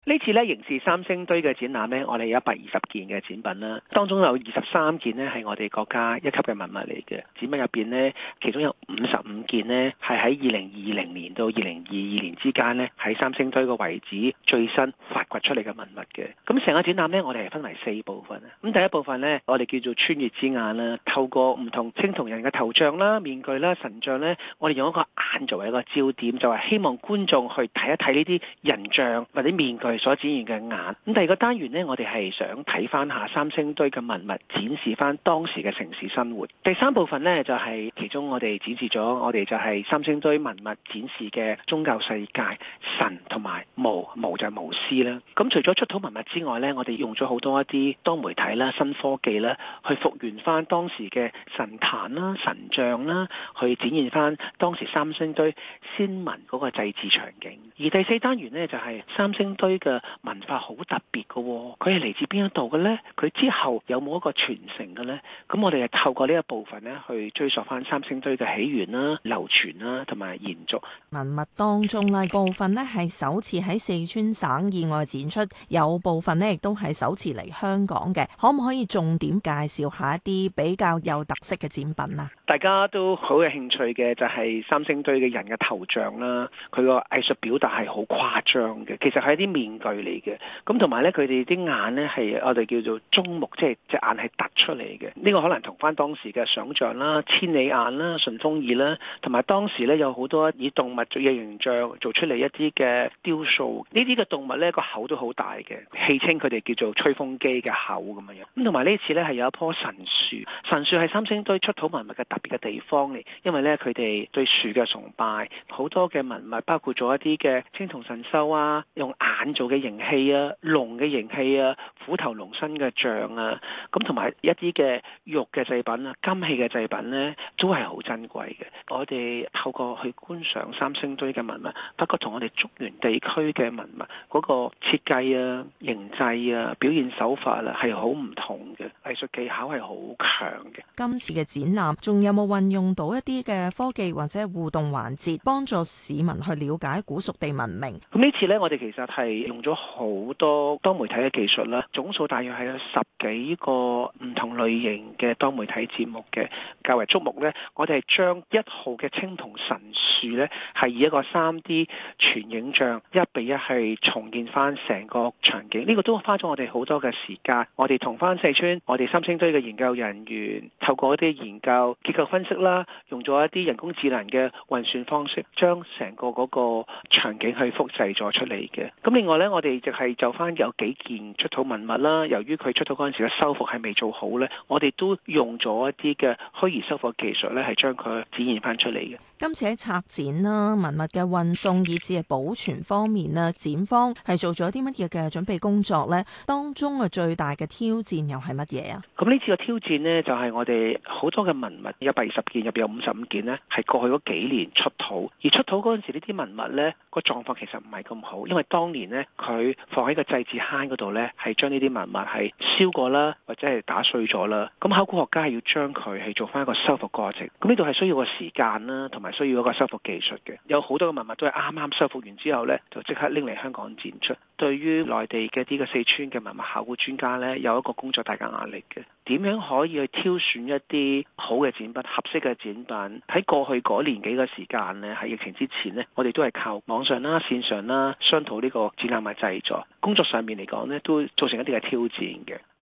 呢次咧刑事三星堆嘅展覽咧，我哋有120件嘅展品啦，當中有23件呢係我哋國家一級嘅文物嚟嘅。展品入邊呢，其中有55件呢係喺2020年到2022年之間呢，喺三星堆個遺址最新發掘出嚟嘅文物嘅。咁成個展覽呢，我哋係分為4部分。咁第一部分呢，我哋叫做穿越之眼啦，透過唔同青銅人嘅頭像啦、面具啦、神像呢，我哋用一個眼作為一個焦點，就係希望觀眾去睇一睇呢啲人像或者面具所展現嘅眼。咁第二個單元呢，我哋係想睇翻下三星堆嘅文物，展示翻當時嘅城市生活。第3部分呢，就係其中我哋展示咗，我哋就係三星堆文物展示嘅宗教世界，神同埋巫就係巫師啦。咁除咗出土文物之外呢，我哋用咗好多一啲多媒體啦、新科技啦，去復原翻當時嘅神壇啦、神像啦，去展現翻當時三星堆先民嗰個祭祀場景。而第4單元呢，就係三星堆嘅文化好特別嘅，佢係嚟自邊一度嘅呢？佢之後有冇一個傳承嘅呢？咁我哋係透過呢一部分呢，去追溯翻三星堆嘅起源啦、流傳啦同埋延續。 文物當中呢，部分呢係首次喺四川省以外展出，有部分呢亦都係首次嚟香港嘅。可唔可以重點介紹下一啲比較有特色嘅展品啊？ 大家都好有興趣嘅就係三星堆嘅人嘅頭像啦，佢個藝術表達係好誇張嘅，其實係一啲面具嚟嘅。咁同埋咧，佢哋啲眼咧係我哋叫做中目，即係隻眼係突出嚟嘅。呢個可能同翻當時嘅想像啦、千里眼啦、順風耳啦，同埋當時咧有好多以動物嘅形象做出嚟一啲嘅雕塑。呢啲嘅動物咧個口都好大嘅，戲稱佢哋叫做吹風機嘅口咁樣。咁同埋呢次咧係有一棵神樹，神樹係三星堆出土文物嘅特別嘅地方嚟，因為咧佢哋對樹嘅崇拜，好多嘅文物包括咗一啲嘅青銅神獸啊，用眼做嘅形器啊、龍嘅形器啊、虎頭龍身嘅像啊，咁同埋一啲嘅玉嘅製品啊、金器嘅製品咧，都係好珍貴嘅。我哋透過去觀賞三星堆嘅文物，不過同我哋竹園地區嘅文物嗰個設計啊、形製啊、表現手法啊係好唔同嘅，藝術技巧係好強嘅。 今次嘅展覽仲有冇運用到一啲嘅科技或者互動環節，幫助市民去了解古蜀地文明？ 咁呢次呢，我哋其實係用咗好多多媒體嘅技術啦，總數大約係有10幾個唔同類型嘅多媒體節目嘅。較為矚目呢，我哋係將1號嘅青銅神樹呢，係以一個3D 全影像1比1係重建翻成個場景。呢個都花咗我哋好多嘅時間。我哋同翻四川我哋三星堆嘅研究人員透過一啲研究結構分析啦，用咗一啲人工智能嘅運算方式，將成個嗰個場景去複製咗出嚟嘅。咁另外呢，我哋就係就翻有幾件出土文物啦，由於佢出土嗰陣時嘅修復係未做好呢，我哋都用咗一啲嘅虛擬修復技術呢，係將佢展現翻出嚟嘅。 今次喺策展啦、文物嘅運送以至係保存方面啦，展方係做咗啲乜嘢嘅準備工作呢？當中嘅最大嘅挑戰又係乜嘢啊？ 咁呢次嘅挑戰呢，就係我哋好多嘅文物120件入邊有55件呢，係過去嗰幾年出土，而出土嗰陣時呢啲文物呢，個狀況其實唔係咁好，因為當年呢，佢放喺個祭祀坑嗰度呢，係將呢啲文物係燒過啦，或者係打碎咗啦。咁考古學家係要將佢係做翻一個修復過程，咁呢度係需要個時間啦，同埋需要一個修復技術嘅。有好多嘅文物都係啱啱修復完之後呢，就即刻拎嚟香港展出。對於內地嘅啲嘅四川嘅文物考古專家呢，有一個工作大嘅壓力嘅。點樣可以去挑選一啲好嘅展品、合適嘅展品？喺過去嗰年幾嘅時間呢，喺疫情之前呢，我哋都係靠網上啦、線上啦商討呢個展覽嘅製作。工作上面嚟講呢，都造成一啲嘅挑戰嘅。